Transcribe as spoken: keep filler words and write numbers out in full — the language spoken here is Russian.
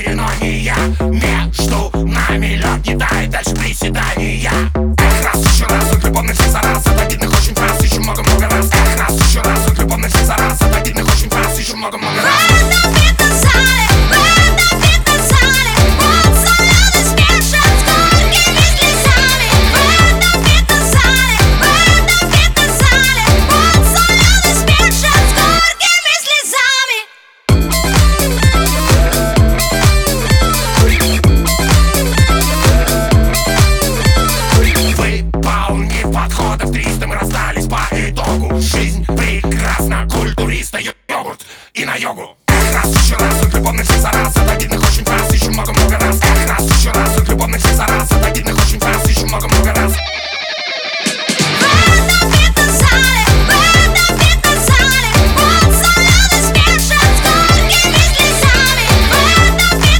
но не я. Между нами лед не тает, дальше приседания. Эх, раз, еще раз, от любовных всех за раз. От обидных очень фраз, еще много-много раз. Эх, раз, еще раз, от любовных всех за раз. От обидных очень фраз, еще много-много раз. Подходов триста, мы расстались по итогу. Жизнь прекрасна, культуриста, йогурт и на йогу. Эх, раз, еще раз, от любовных всех за раз.